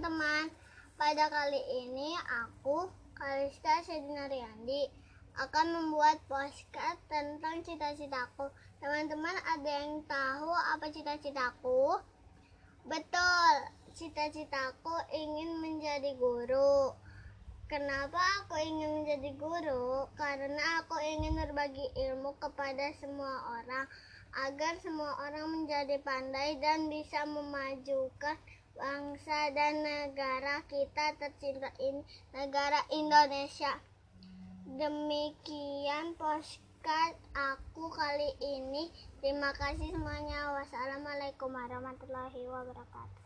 teman-teman, pada kali ini aku, Kaliska Sedinariandi, akan membuat postcard tentang cita-citaku. Teman-teman, ada yang tahu apa cita-citaku? Betul, cita-citaku ingin menjadi guru. Kenapa aku ingin menjadi guru? Karena aku ingin berbagi ilmu kepada semua orang, agar semua orang menjadi pandai dan bisa memajukan bangsa dan negara kita tercinta ini, negara Indonesia. Demikian postcard aku kali ini. Terima kasih semuanya. Wassalamualaikum warahmatullahi wabarakatuh.